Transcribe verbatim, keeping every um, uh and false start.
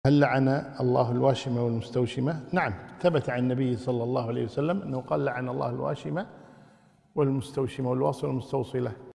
هل لعن الله الواشمة والمستوشمة؟ نعم، ثبت عن النبي صلى الله عليه وسلم أنه قال: لعن الله الواشمة والمستوشمة والواصل والمستوصلة.